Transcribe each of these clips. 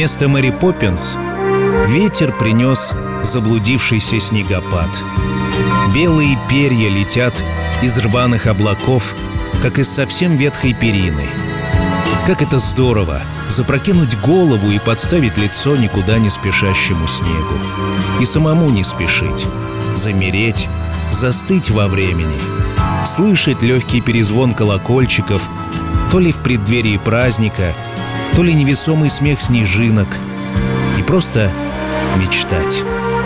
Вместо Мэри Поппинс ветер принес заблудившийся снегопад. Белые перья летят из рваных облаков, как из совсем ветхой перины. Как это здорово — запрокинуть голову и подставить лицо никуда не спешащему снегу. И самому не спешить, замереть, застыть во времени, слышать легкий перезвон колокольчиков, то ли в преддверии праздника, то ли невесомый смех снежинок, и просто мечтать.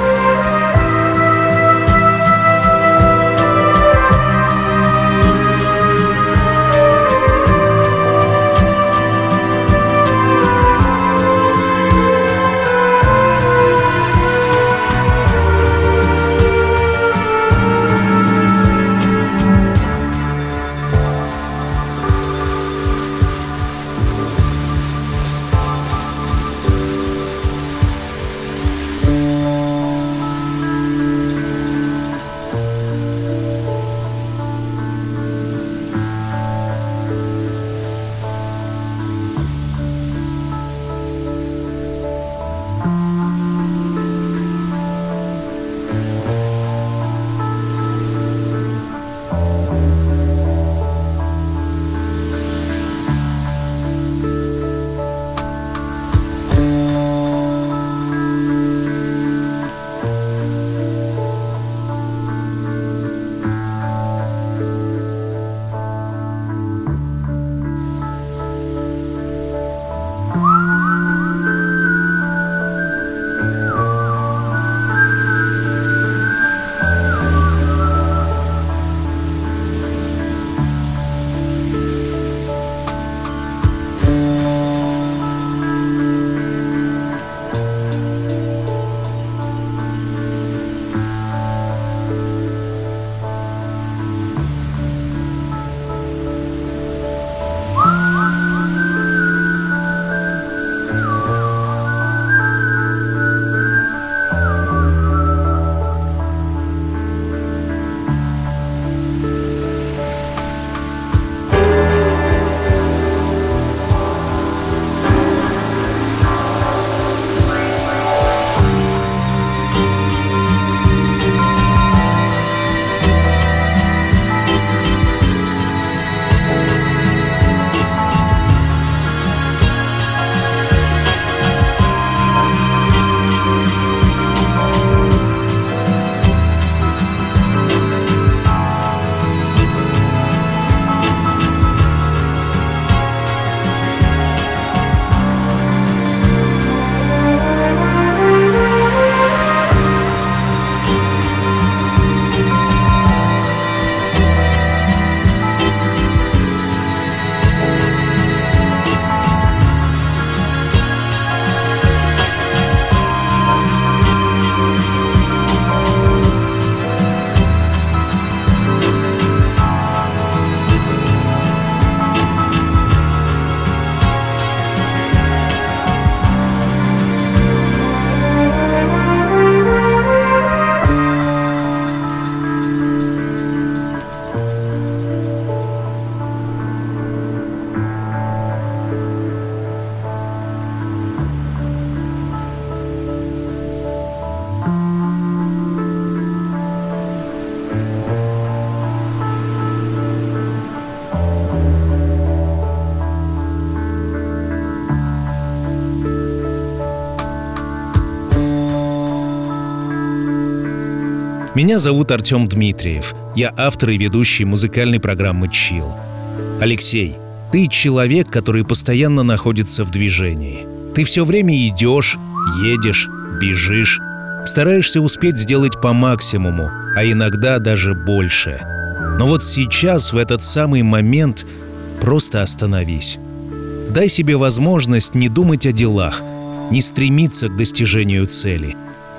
Меня зовут Артем Дмитриев. Я автор и ведущий музыкальной программы «Чилл». Алексей, ты человек, который постоянно находится в движении. Ты все время идешь, едешь, бежишь, стараешься успеть сделать по максимуму, а иногда даже больше. Но вот сейчас, в этот самый момент, просто остановись. Дай себе возможность не думать о делах, не стремиться к достижению цели.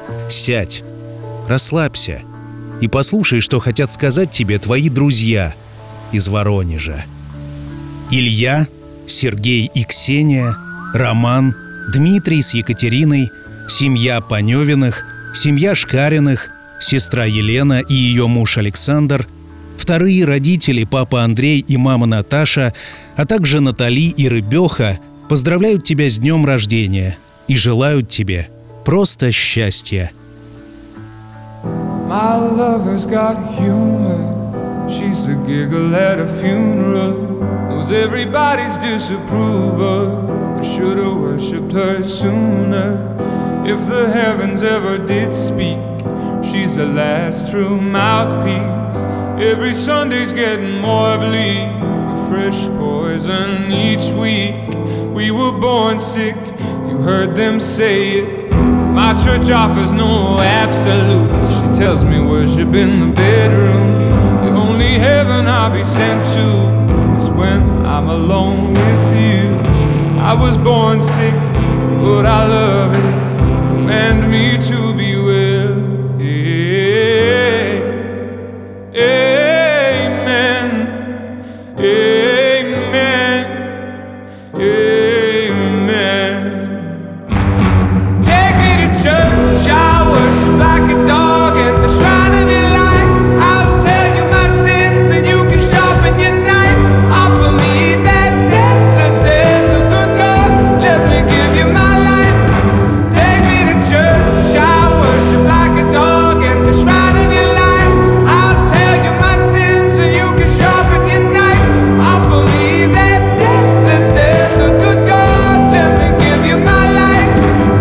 Сядь, расслабься и послушай, что хотят сказать тебе твои друзья из Воронежа. Илья, Сергей и Ксения, Роман, Дмитрий с Екатериной, семья Паневиных, семья Шкариных, сестра Елена и ее муж Александр, вторые родители папа Андрей и мама Наташа, а также Натали и Рыбеха поздравляют тебя с днем рождения и желают тебе просто счастья. My lover's got humor. She's the giggle at a funeral. Knows everybody's disapproval. I should've worshipped her sooner. If the heavens ever did speak, she's the last true mouthpiece. Every Sunday's getting more bleak, a fresh poison each week. We were born sick, you heard them say it. My church offers no absolutes. She tells me worship in the bedroom. The only heaven I'll be sent to is when I'm alone with you. I was born sick, but I love it. Command me to be well. Amen. Amen. Amen. Take me to church, I worship like a dog at the shrine of your light. I'll tell you my sins and you can sharpen your knife. Offer me that deathless death, the good God, let me give you my life. Take me to church, I worship like a dog at the shrine of your life. I'll tell you my sins and you can sharpen your knife. Offer me that deathless death, the good God, let me give you my life.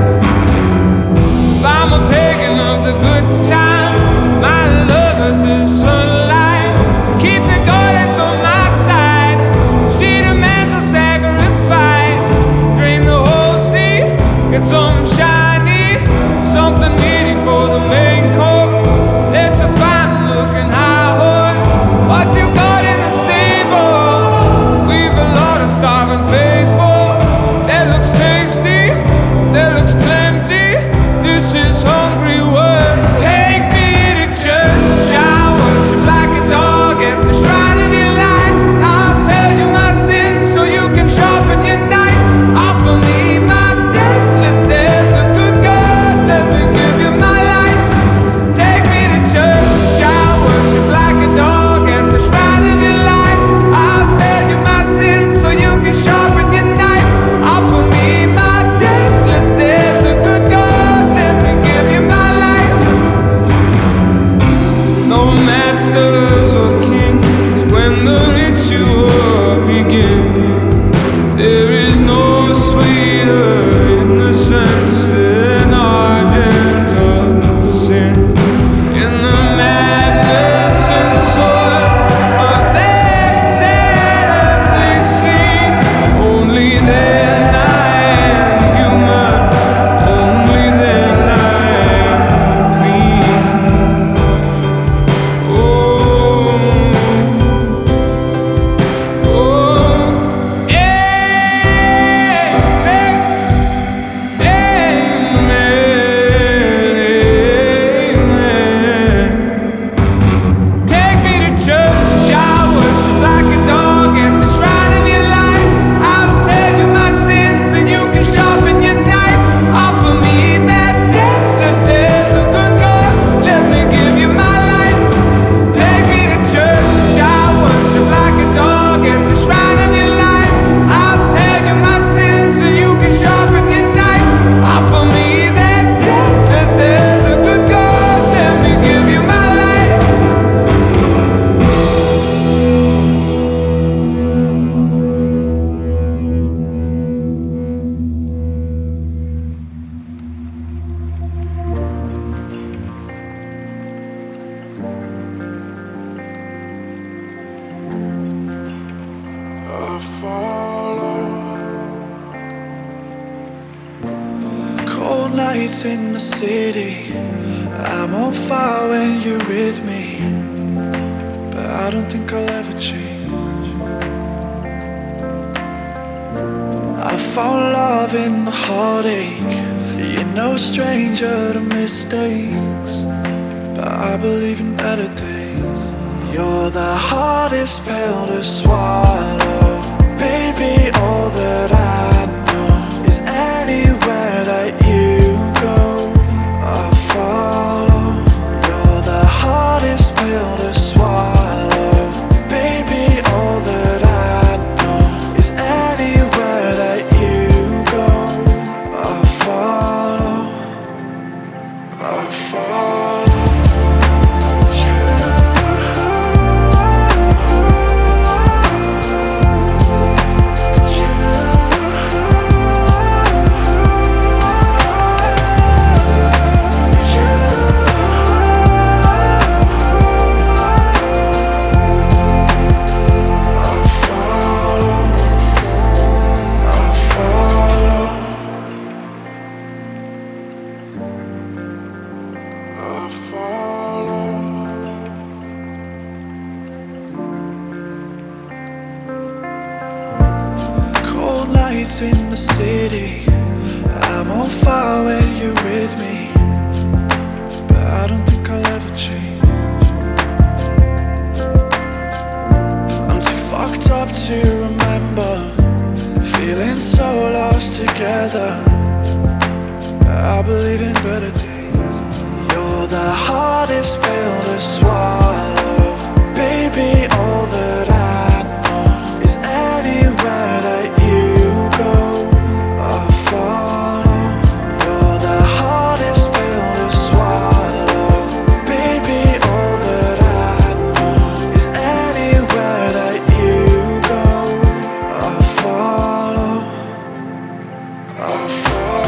If I'm a pagan of the good time, my lover's the sunlight. Keep the goddess on my side. She demands a sacrifice. Drain the whole sea, get something shiny, something meaty for the main course. Let's a fine looking high horse. What you got in the stable? We've a lot of starving faithful. That looks tasty, that looks plenty. This is hungry work. Take me to church, I worship like a dog at the shrine of your light. I'll tell you my sins so you can sharpen your knife. Offer me my deathless death, the good God, let me give you my life. Take me to church, I worship like a dog at the shrine of your life. I'll tell you my sins so you can sharpen your knife. Offer me my deathless death, the good God, let me give you my life. No masters or kings when the ritual begins. There is no sweeter innocence than our gentle sin. In the madness and soil of that sad earthly scene, only then I am human, only then I am clean. Oh, oh, Cold nights in the city, I'm on fire when you're with me, but I don't think I'll ever change. I found love in the heartache. You're no stranger to mistakes, but I believe in better days. You're the hardest pill to swallow, baby. All that I know is anywhere that you go, I'll follow. You're the hardest pill to swallow, baby. All that I know is anywhere that you go, I'll follow. follow. Cold nights in the city, I'm on fire when you're with me, but I don't think I'll ever change. I'm too fucked up to remember, feeling so lost together. I believe in better days. You're the hardest pill to swallow, baby. All that I know is anywhere that you go, I'll follow. You're the hardest pill to swallow, baby. All that I know is anywhere that you go, I'll follow. I'll follow.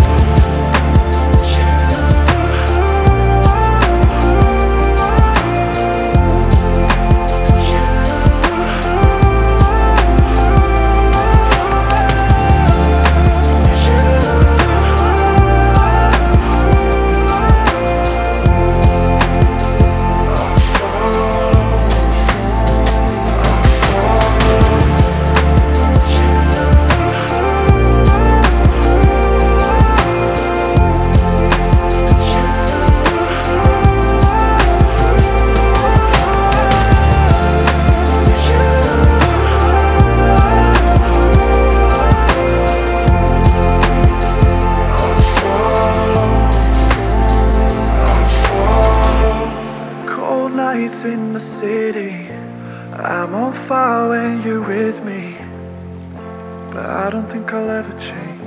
Nights in the city, I'm on fire when you're with me, but I don't think I'll ever change.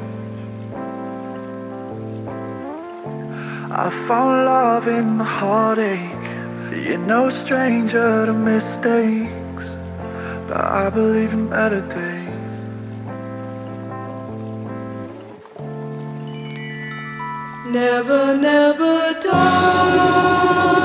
I found love in the heartache, you're no stranger to mistakes, but I believe in better days. Never, never die.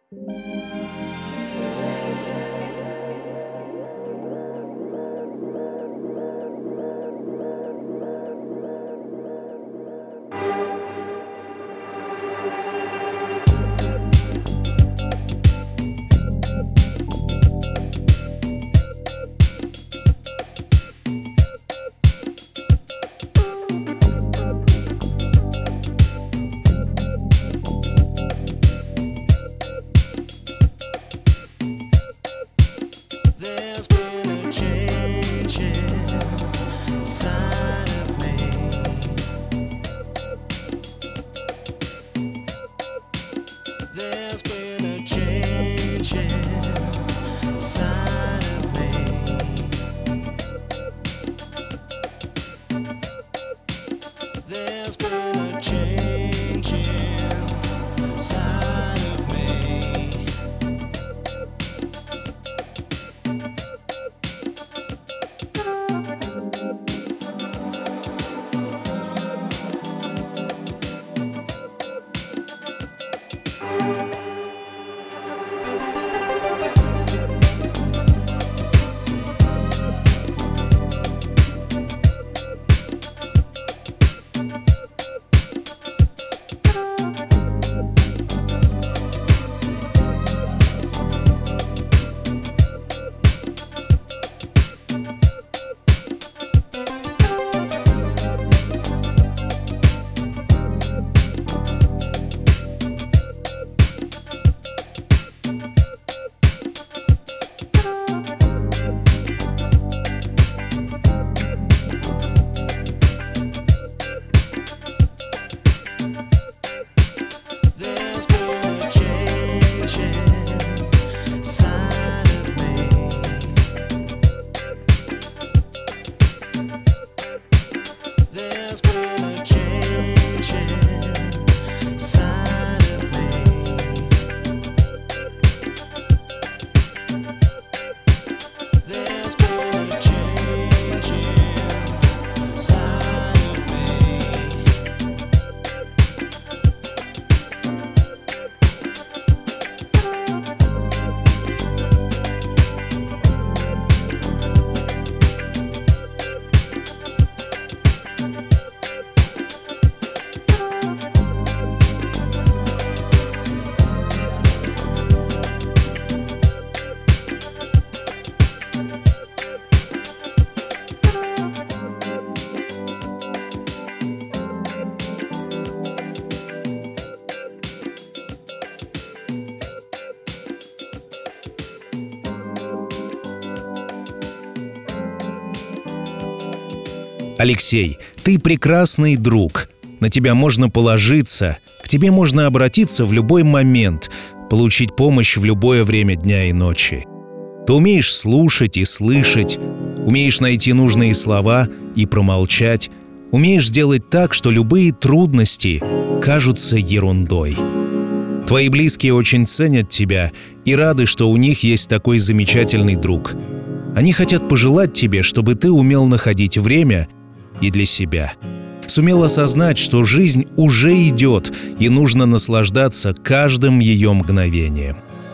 Алексей, ты прекрасный друг. На тебя можно положиться, к тебе можно обратиться в любой момент, получить помощь в любое время дня и ночи. Ты умеешь слушать и слышать, умеешь найти нужные слова и промолчать, умеешь сделать так, что любые трудности кажутся ерундой. Твои близкие очень ценят тебя и рады, что у них есть такой замечательный друг. Они хотят пожелать тебе, чтобы ты умел находить время и для себя. Сумел осознать, что жизнь уже идет, и нужно наслаждаться каждым ее мгновением.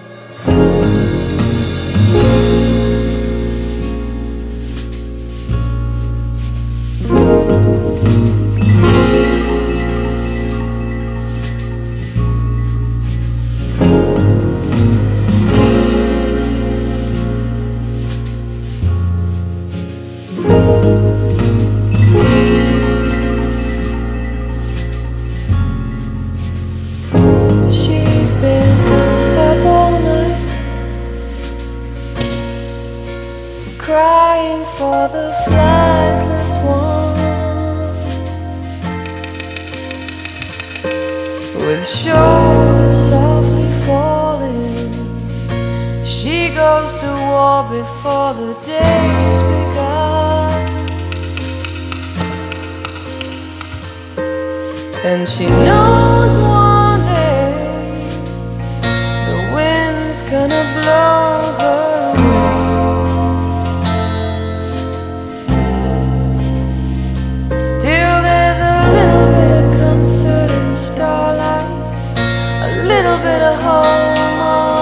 Crying for the flightless ones, with shoulders softly falling, she goes to war before the day's begun, and she knows one day the wind's gonna blow her away. Starlight, a little bit of home.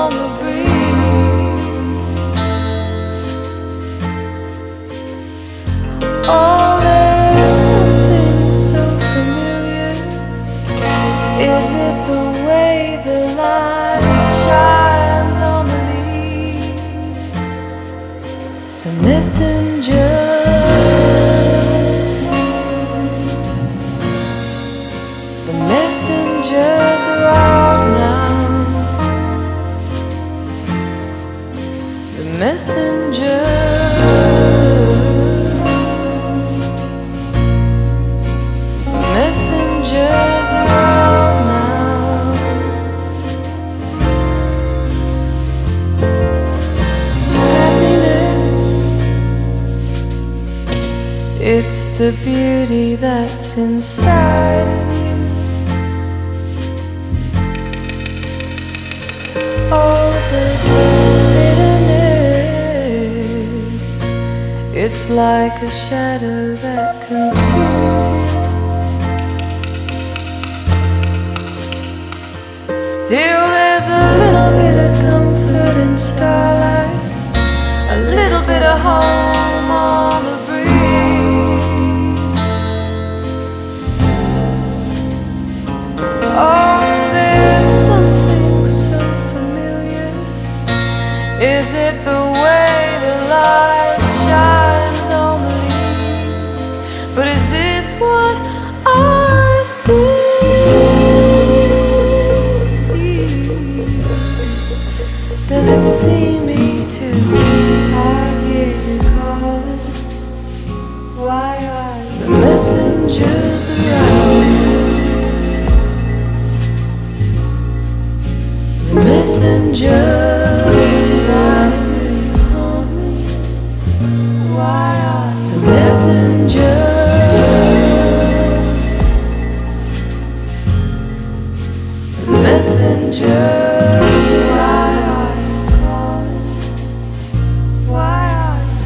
messengers are out now. The messengers are out now. Happiness, it's the beauty that's inside of you. All the bitterness, it's like a shadow that consumes you. Still there's a little bit of comfort in starlight, a little bit of home on the breeze. Oh, there's something so familiar. Is it the way the light shines on the leaves? But is this what I see? Does it see me too? I hear you calling. Why are the messengers around? The messengers, why do you haunt me? Why are the messengers? The messengers, why are you calling? Why are the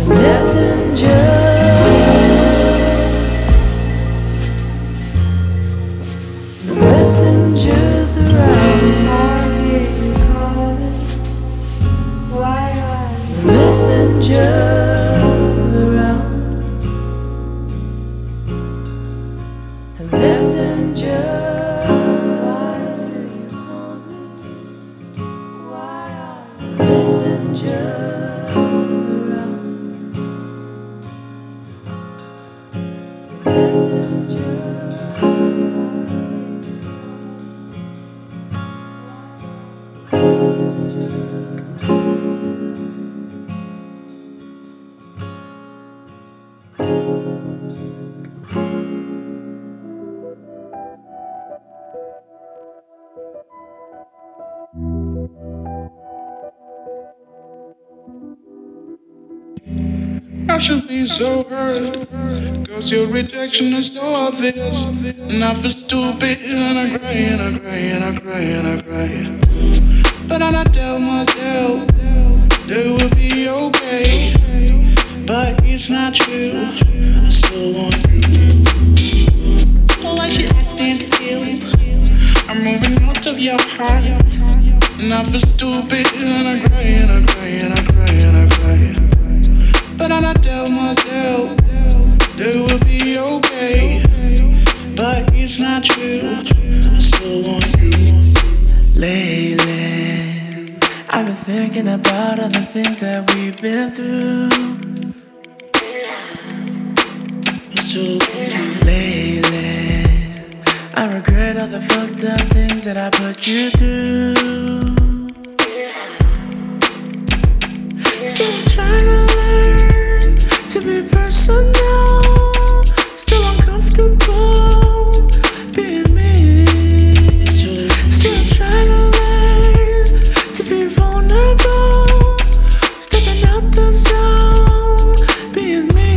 messengers? The messengers around. I hear you calling. Why are the messengers around? The messengers, why do you haunt me? Why are the messengers around? The messengers. I should be so hurt, cause your rejection is so obvious. And I feel stupid and I cry and I cry and I cry and I cry. But then I tell myself that it will be okay. But it's not true, I still want you. Why should I stand still? I'm moving out of your heart. And I feel stupid and I cry and I cry and I cry and I cry. But then I tell myself that it will be okay. But it's not true, I still want you. Lately, I've been thinking about all the things that we've been through. Lately, I regret all the fucked up things that I put you through. Still trying to learn to be personal. Still uncomfortable being me. Still trying to learn to be vulnerable. Stepping out the zone, being me.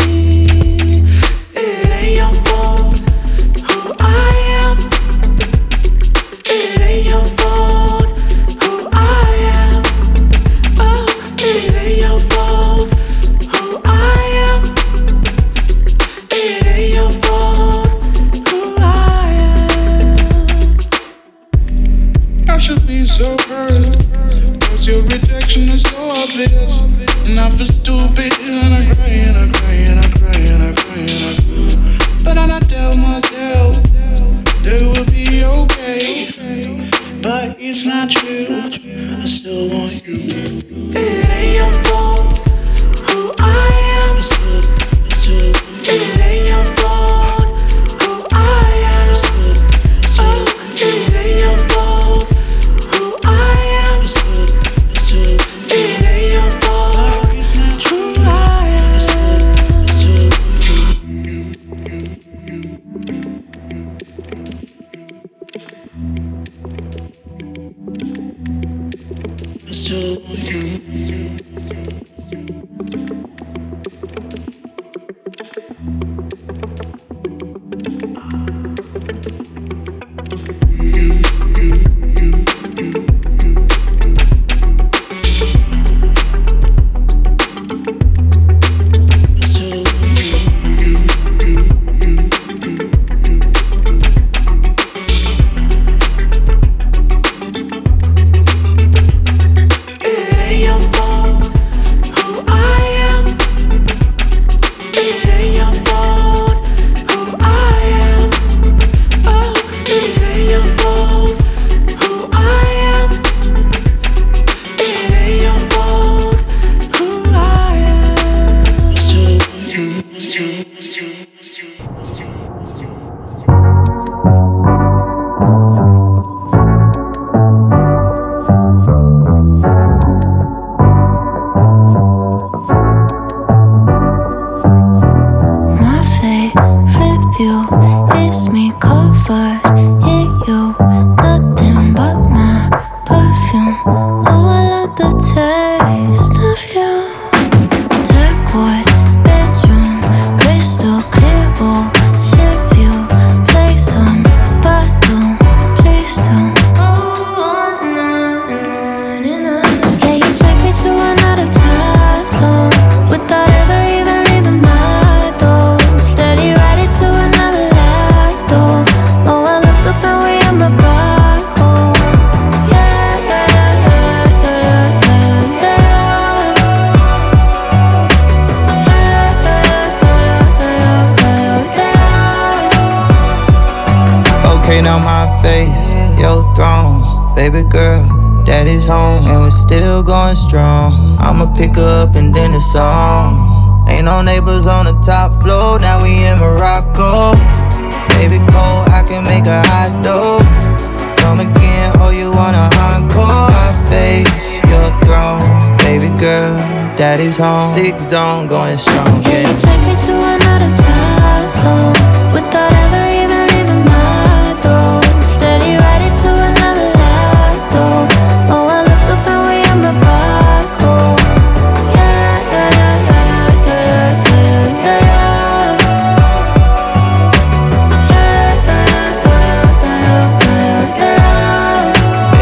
It ain't your fault who I am. It ain't your fault who I am. Oh, it ain't your fault who I am. It ain't your fault who I am. I should be so hurt, cause your rejection is so obvious. And I feel stupid and I cry and I cry and I cry and I cry and I cry. But then I tell myself that it will be okay. But it's not true, I still want you. It ain't your fault who I am. Daddy's home, 6 zone, going strong. Yeah, you take me to another time zone without ever even leaving my door. Steady riding to another light, though. Oh, I looked up and we in my back home. Yeah, yeah, yeah, yeah, yeah, yeah, yeah. Yeah, yeah, yeah, yeah, yeah, yeah.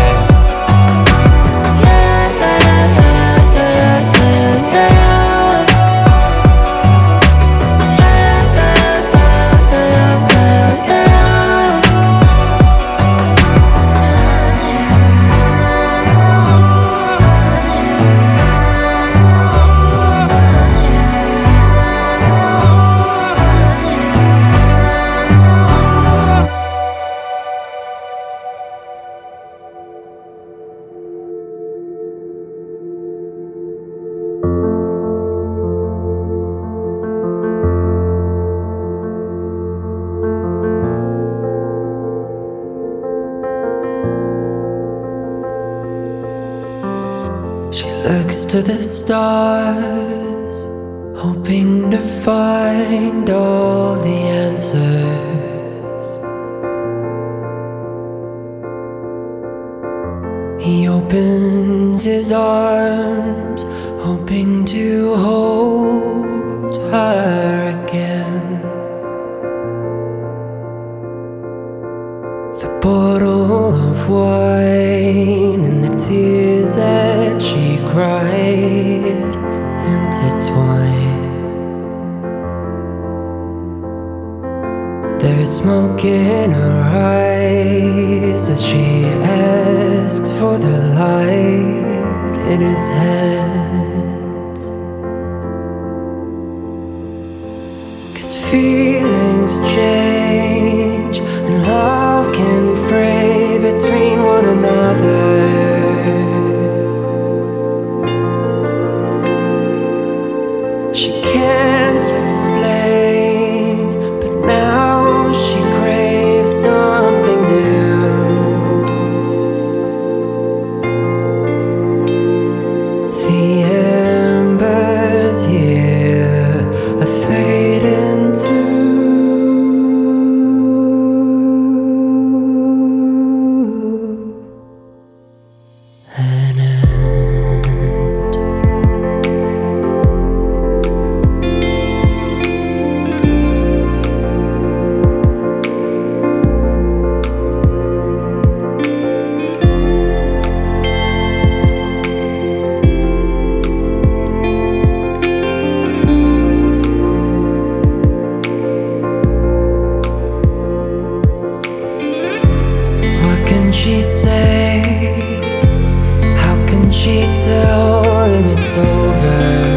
Looks to the stars, hoping to find all the answers. He opens his arms, hoping to hold her again. The bottle of wine and the tears that she cried intertwine. There's smoke in her eyes as she asks for the light in his hands. 'Cause feelings change and love can fray between one another. She can't explain, but now she craves something new. The it's over.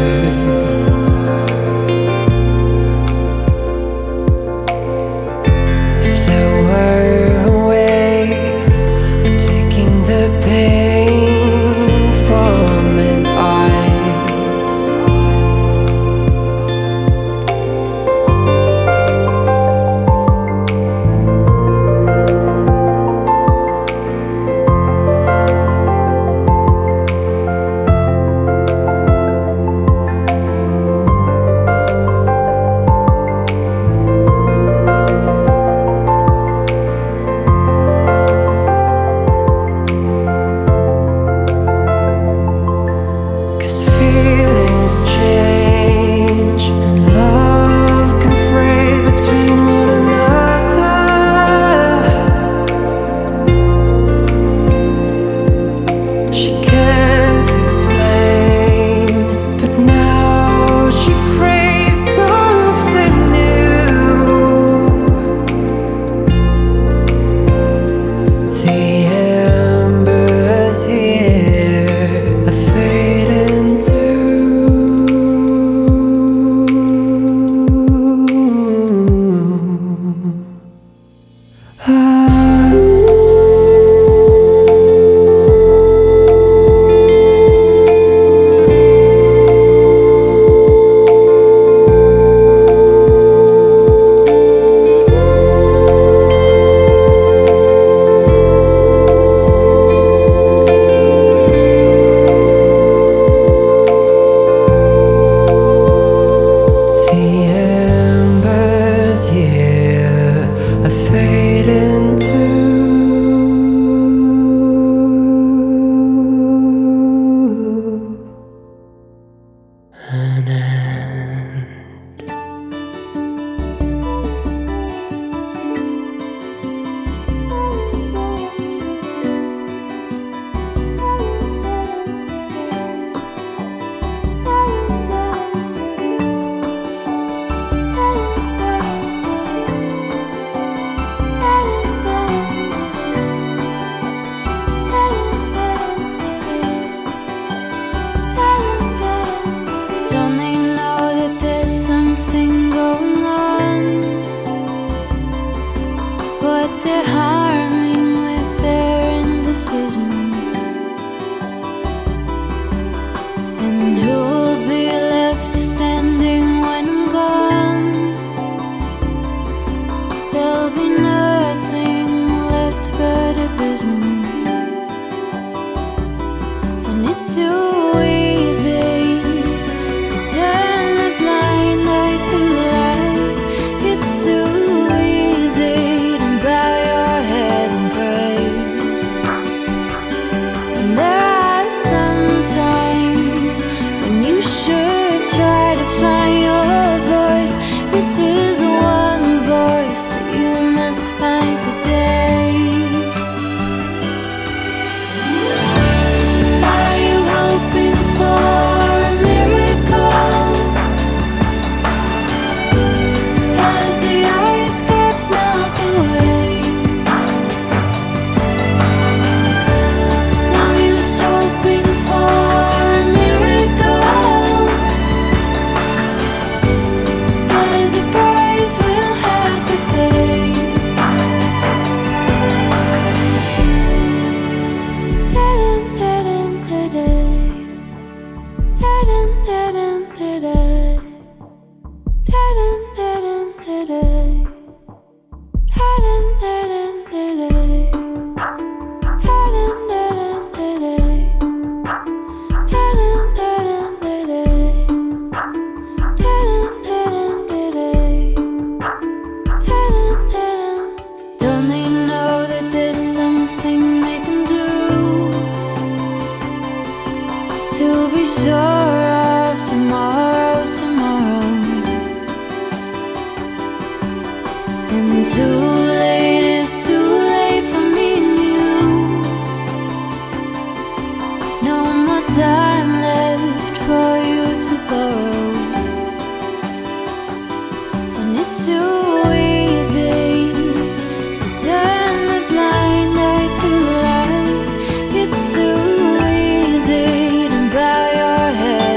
It's too easy to bow your head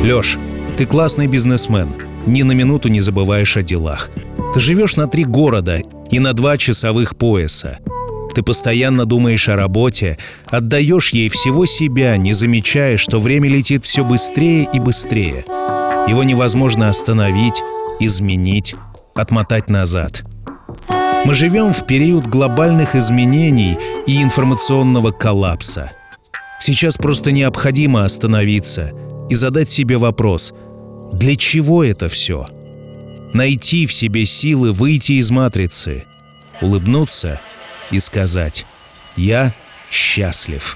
Лёш, ты классный бизнесмен, ни на минуту не забываешь о делах. Ты живешь на 3 города и на 2 часовых пояса. Ты постоянно думаешь о работе, отдаешь ей всего себя, не замечая, что время летит все быстрее и быстрее. Его невозможно остановить, изменить, отмотать назад. Мы живем в период глобальных изменений и информационного коллапса. Сейчас просто необходимо остановиться и задать себе вопрос: для чего это все? Найти в себе силы выйти из матрицы, улыбнуться и сказать: «Я счастлив».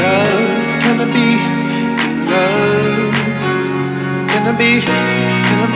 Can I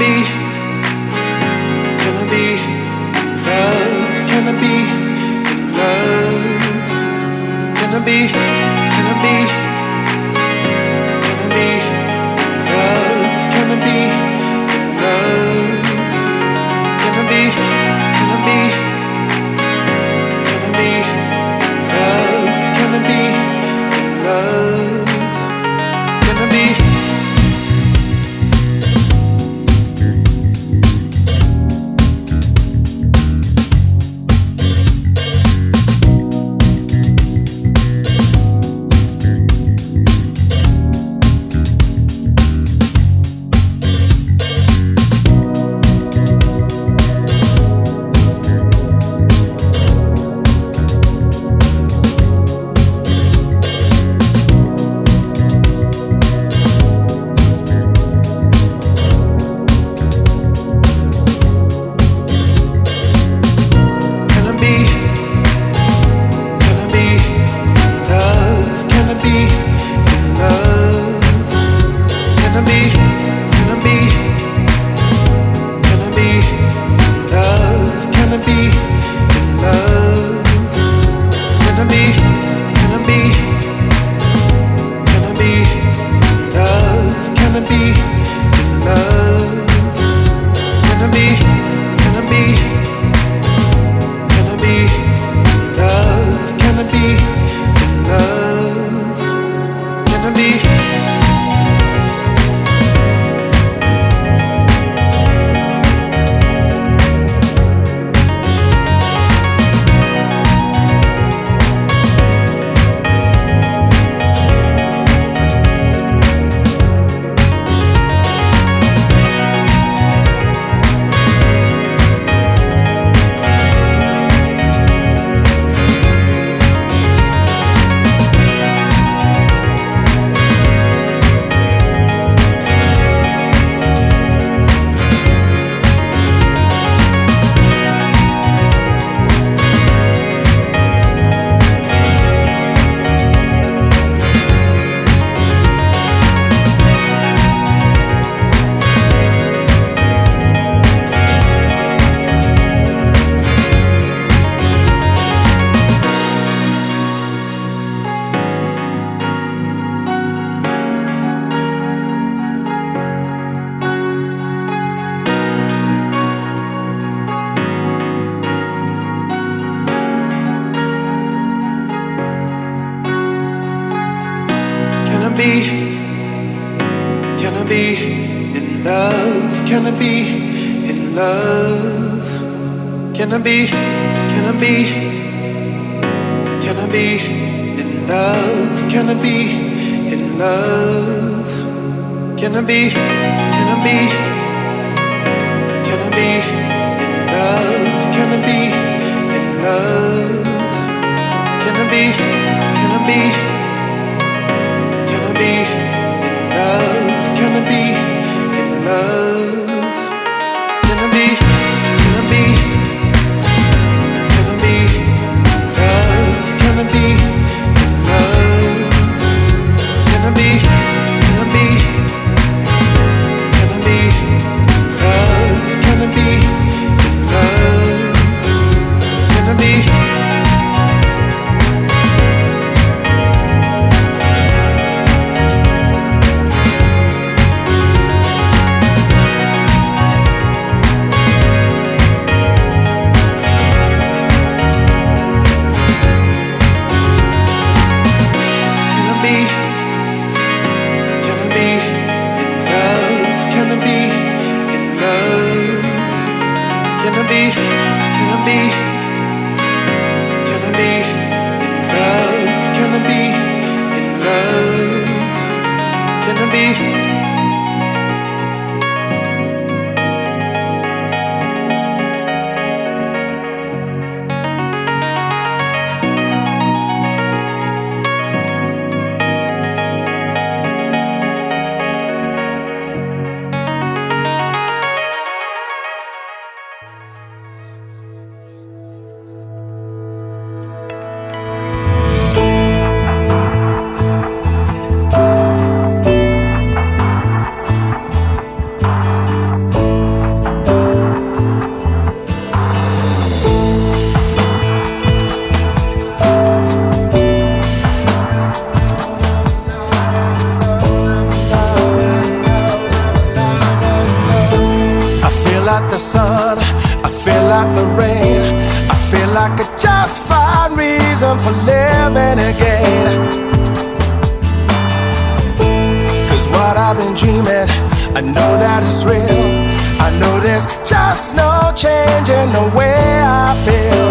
I've been dreaming, I know that it's real. I know there's just no change in the way I feel.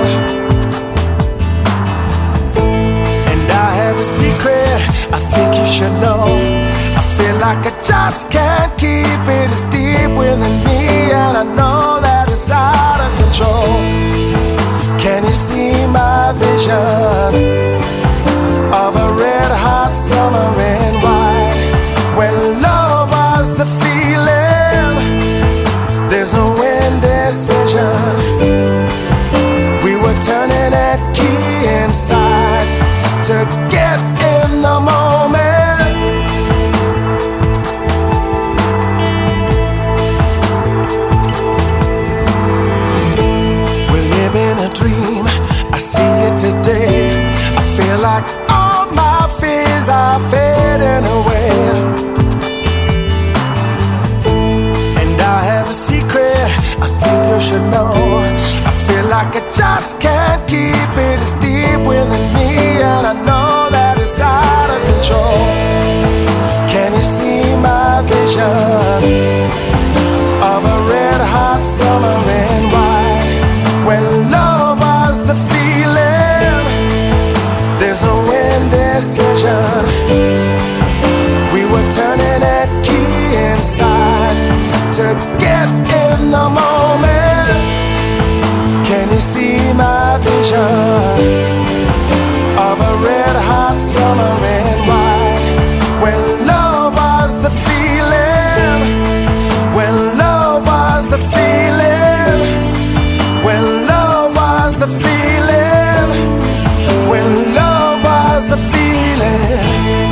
And I have a secret I think you should know. I feel like I just can't keep it. It's deep within me, and I know that it's out of control. Can you see my vision of a red hot summer in white? When love was the feeling, there's no indecision. We were turning that key inside to get in the moment. We're living a dream, I see it today. I feel like all my fears are fading away. And I have a secret I think you should know. I feel like I just can't keep it. It's deep within me, and I know that it's out of control. Can you see my vision of a red hot summer in white? When love was the feeling, there's no indecision. We were turning that key inside to get in the moment. Can you see my vision of a red hot summer in white? When love was the feeling, when love was the feeling, when love was the feeling, when love was the feeling.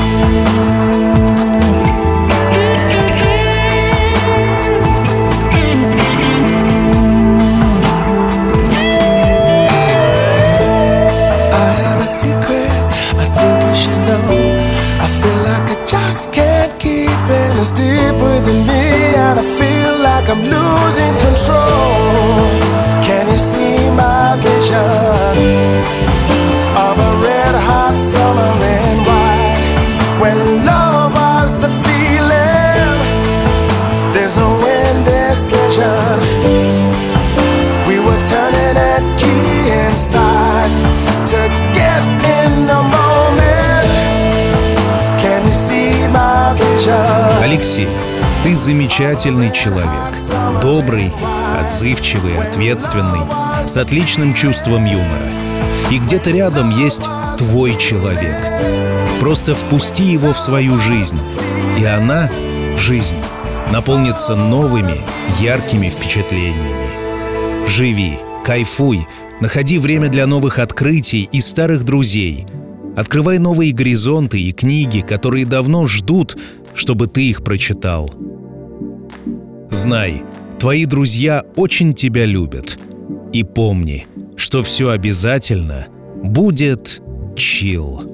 I have a secret I think you should know. I feel like I just can't keep it. It's deep within me, and I feel like I'm losing control. Can you see my vision of a red hot summer in white? When love was the feeling, there's no indecision. We were turning that key inside to get in the moment. Can you see my vision? Алексей, ты замечательный человек. Добрый, отзывчивый, ответственный, с отличным чувством юмора. И где-то рядом есть твой человек. Просто впусти его в свою жизнь, и она, жизнь, наполнится новыми, яркими впечатлениями. Живи, кайфуй, находи время для новых открытий и старых друзей. Открывай новые горизонты и книги, которые давно ждут, чтобы ты их прочитал. Знай, твои друзья очень тебя любят. И помни, что все обязательно будет chill.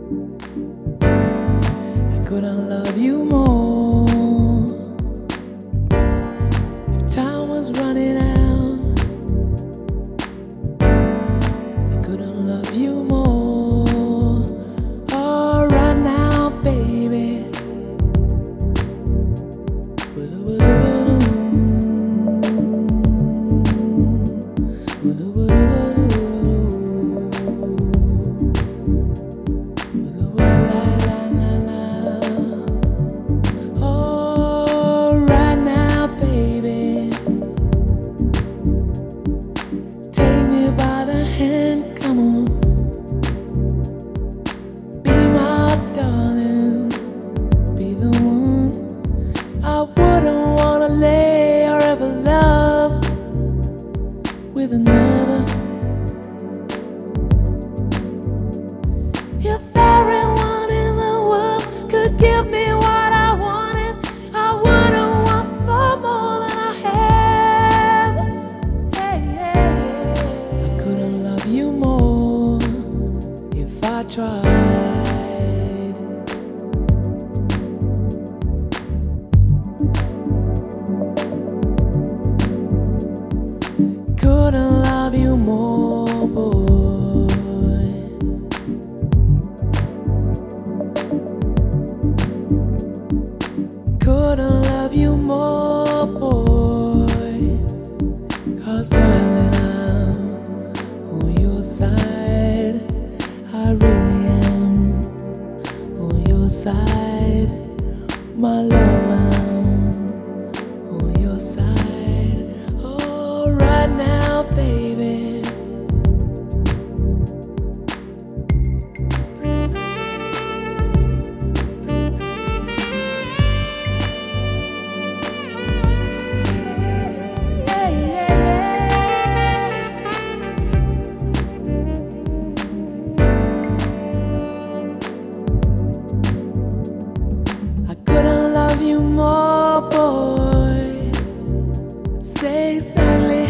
Couldn't love you more if time was running out. I couldn't love you more. Oh, right now, baby. couldn't love you more, boy. 'Cause darling, I'm on your side. I really am on your side. My love, I'm on your side. Oh, right now, baby. More, boy, stay silent.